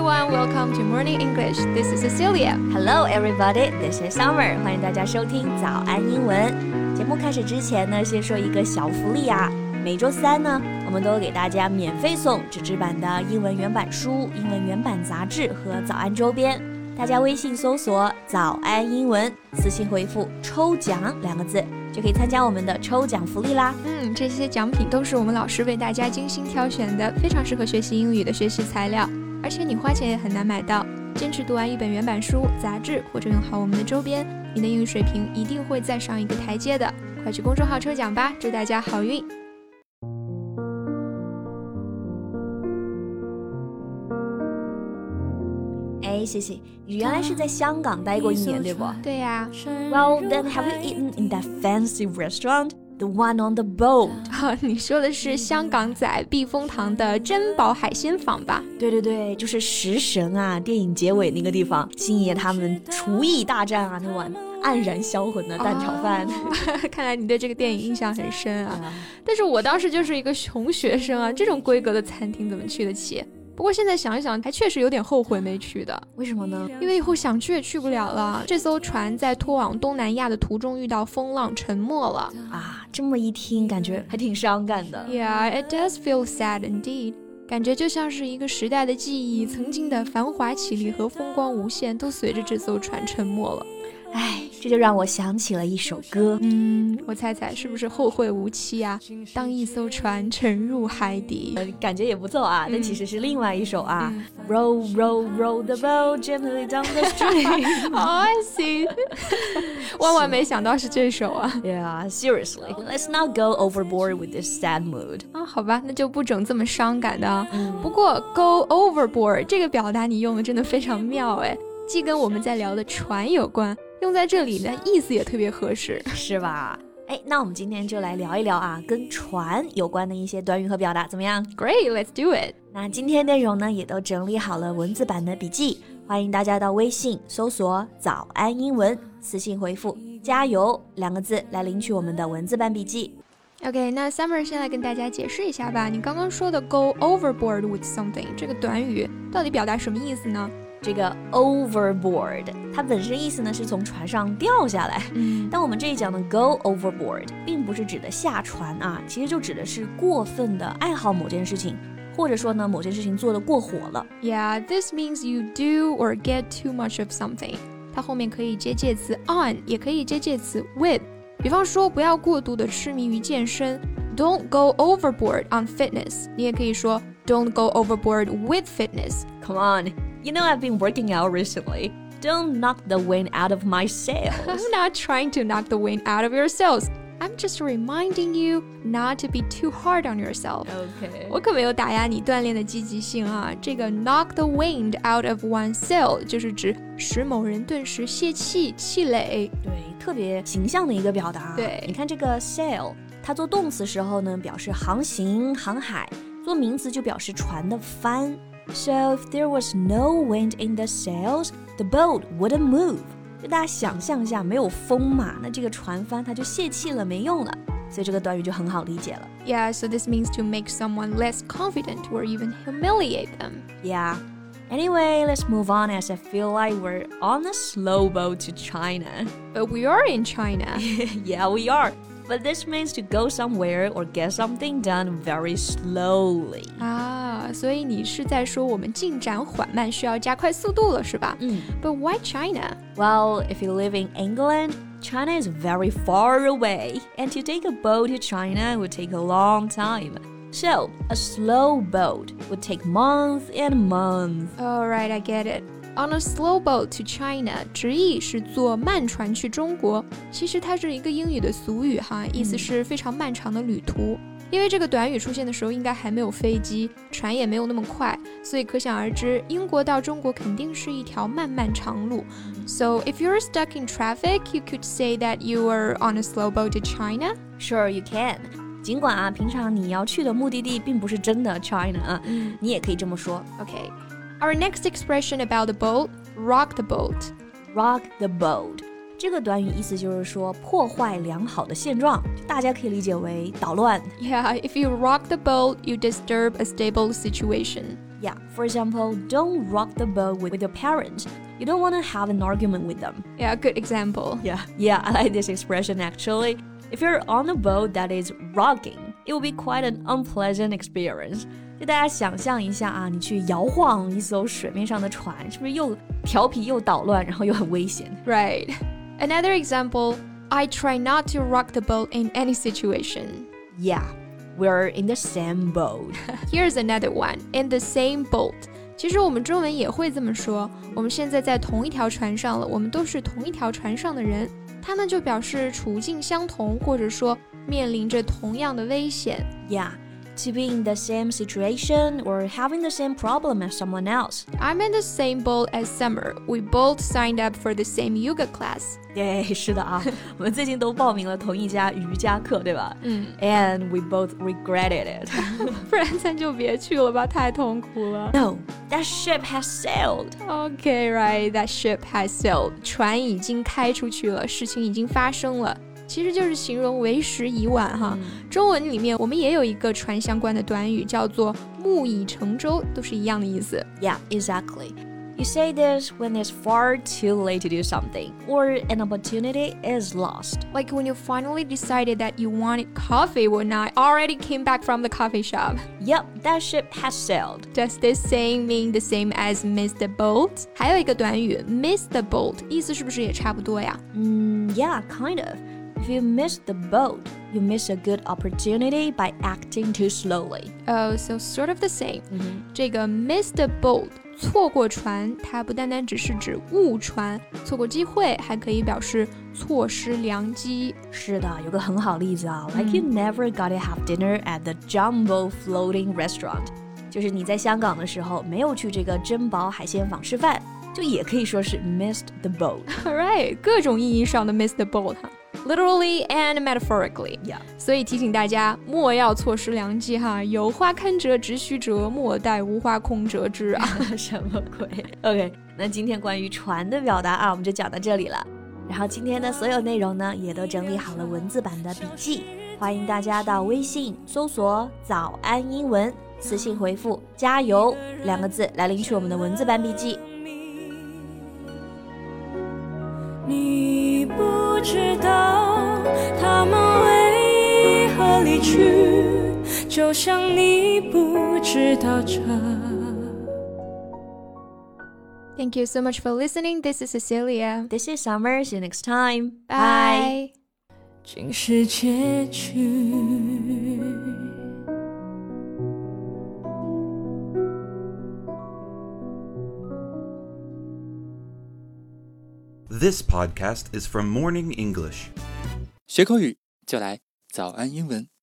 everyone, welcome to Morning English. This is Cecilia. Hello everybody, this is Summer. 欢迎大家收听早安英文。节目开始之前呢，先说一个小福利啊。每周三呢，我们都给大家免费送纸质版的英文原版书、英文原版杂志和早安周边。大家微信搜索早安英文，私信回复抽奖2个字，就可以参加我们的抽奖福利啦。 这些奖品都是我们老师为大家精心挑选的，非常适合学习英语的学习材料，而且你花钱也很难买到。坚持读完一本原版书、杂志，或者用好我们的周边，你的英语水平一定会再上一个台阶的。快去公众号抽奖吧，祝大家好运！ 谢谢，你原来是在香港待过1年，对不？ 对呀。 Well, then have you eaten in that fancy restaurant? The one on the boat. 你说的是香港仔避风塘的珍宝海鲜坊吧？ 对，就是食神啊，电影结尾那个地方，星爷他们厨艺大战啊，那碗黯然销魂的蛋炒饭。 看来你对这个电影印象很深啊。但是我当时就是一个穷学生啊，这种规格的餐厅怎么去得起？不过现在想一想，还确实有点后悔没去的。 为什么呢？ 因为以后想去也去不了了。这艘船在拖往东南亚的途中遇到风浪沉没了啊！这么一听，感觉还挺伤感的。 Yeah, it does feel sad indeed. 感觉就像是一个时代的记忆，曾经的繁华绮丽和风光无限，都随着这艘船沉没了。 这就让我想起了一首歌。 我猜猜是不是后会无期啊？当一艘船沉入海底。 感觉也不错啊，但其实是另外一首啊。Row, row, row the boat gently down the stream. I see. 万没想到是这首啊。 Yeah, seriously. Let's not go overboard with this sad mood. 好吧，那就不整这么伤感的。不过 go overboard 这个表达你用的真的非常妙哎，既跟我们在聊的船有关，用在这里呢，意思也特别合适， 是吧？那我们今天就来聊一聊啊，跟船有关的一些短语和表达，怎么样？ Great, let's do it. 那今天内容呢，也都整理好了文字版的笔记，欢迎大家到微信搜索早安英文，私信回复加油2个字来领取我们的文字版笔记。 OK, 那 Summer 先来跟大家解释一下吧，你刚刚说的 go overboard with something 这个短语到底表达什么意思呢？ 这个 overboard 它本身意思呢是从船上掉下来，但我们这一讲的 go overboard 并不是指的下船啊，其实就指的是过分的爱好某件事情，或者说呢某件事情做得过火了。 Yeah, this means you do or get too much of something. 它后面可以接介词 on 也可以接介词 with， 比方说不要过度的痴迷于健身， Don't go overboard on fitness. 你也可以说 Don't go overboard with fitness. Come on, you know I've been working out recently. Don't knock the wind out of my sails. I'm not trying to knock the wind out of your sails. I'm just reminding you not to be too hard on yourself. Okay. 我可没有打压你锻炼的积极性啊。这个 knock the wind out of one's sail 就是指使某人顿时泄气、气馁。 对，特别形象的一个表达。 对， 你看这个 sail， 它做动词时候呢，表示航行、航海；做名词就表示船的帆。So if there was no wind in the sails, the boat wouldn't move. 就大家想象一下，没有风嘛，那这个船帆它就泄气了，没用了。所以这个短语就很好理解了。 Yeah, so this means to make someone less confident or even humiliate them. Yeah. Anyway, let's move on as I feel like we're on a slow boat to China. But we are in China. Yeah, we are. But this means to go somewhere or get something done very slowly. 所以你是在说我们进展缓慢，需要加快速度了，是吧？But why China? Well, if you live in England, China is very far away, and to take a boat to China would take a long time. So, a slow boat would take months and months. All right, I get it. On a slow boat to China 直译是坐慢船去中国，其实它是一个英语的俗语哈，意思是非常漫长的旅途。因为这个短语出现的时候应该还没有飞机，船也没有那么快，所以可想而知，英国到中国肯定是一条漫漫长路。So if you're stuck in traffic, you could say that you are on a slow boat to China. Sure, you can. 尽管啊，平常你要去的目的地并不是真的 China 啊，你也可以这么说。 Okay. Our next expression about the boat, rock the boat. Rock the boat. 这个短语意思就是说破坏良好的现状，大家可以理解为捣乱。 Yeah, if you rock the boat, you disturb a stable situation. Yeah, for example, don't rock the boat with your parents. You don't want to have an argument with them. Yeah, good example. Yeah, I like this expression actually. If you're on a boat that is rocking, it will be quite an unpleasant experience. 就大家想象一下啊，你去摇晃一艘水面上的船，是不是又调皮又捣乱，然后又很危险？ Right. Another example, I try not to rock the boat in any situation. Yeah, we're in the same boat. Here's another one, in the same boat. 其实我们中文也会这么说，我们现在在同一条船上了，我们都是同一条船上的人。它呢就表示处境相同，或者说面临着同样的危险。 Yeah, to be in the same situation or having the same problem as someone else. I'm in the same boat as Summer. We both signed up for the same yoga class. 对，是的啊，我们最近都报名了同一家瑜伽课，对吧？And we both regretted it. 不然咱就别去了吧，太痛苦了。 No, that ship has sailed. Okay, right, that ship has sailed. 船已经开出去了，事情已经发生了。其实就是形容为时已晚哈。中文里面我们也有一个船相关的短语，叫做木已成舟，都是一样的意思。 Yeah, exactly. You say this when it's far too late to do something, or an opportunity is lost. Like when you finally decided that you wanted coffee when I already came back from the coffee shop. Yep, that ship has sailed. Does this saying mean the same as miss the boat? 还有一个短语 miss the boat， 意思是不是也差不多呀 Yeah, kind of. If you miss the boat, you miss a good opportunity by acting too slowly. Oh, so sort of the same. 这个 miss the boat 错过船，它不单单只是指误船，错过机会，还可以表示错失良机。 是的，有个很好例子啊，like you never got to have dinner at the Jumbo Floating Restaurant， 就是你在香港的时候没有去这个珍宝海鲜坊吃饭，就也可以说是 missed the boat. Alright, 各种意义上的 miss the boat 哈。Literally and metaphorically. Yeah. 所以提醒大家，莫要错失良机哈！有花堪折直须折，莫待无花空折枝啊！ 什么鬼 ？OK， 那今天关于船的表达啊，我们就讲到这里了。然后今天的所有内容呢，也都整理好了文字版的笔记，欢迎大家到微信搜索“早安英文”，私信回复“加油”2个字来领取我们的文字版笔记。 你不知道他们为何离去，就像你不知道这。 Thank you so much for listening. This is Cecilia. This is Summer. See you next time. Bye. 竟是结局。 This podcast is from Morning English. 学口语就来早安英文。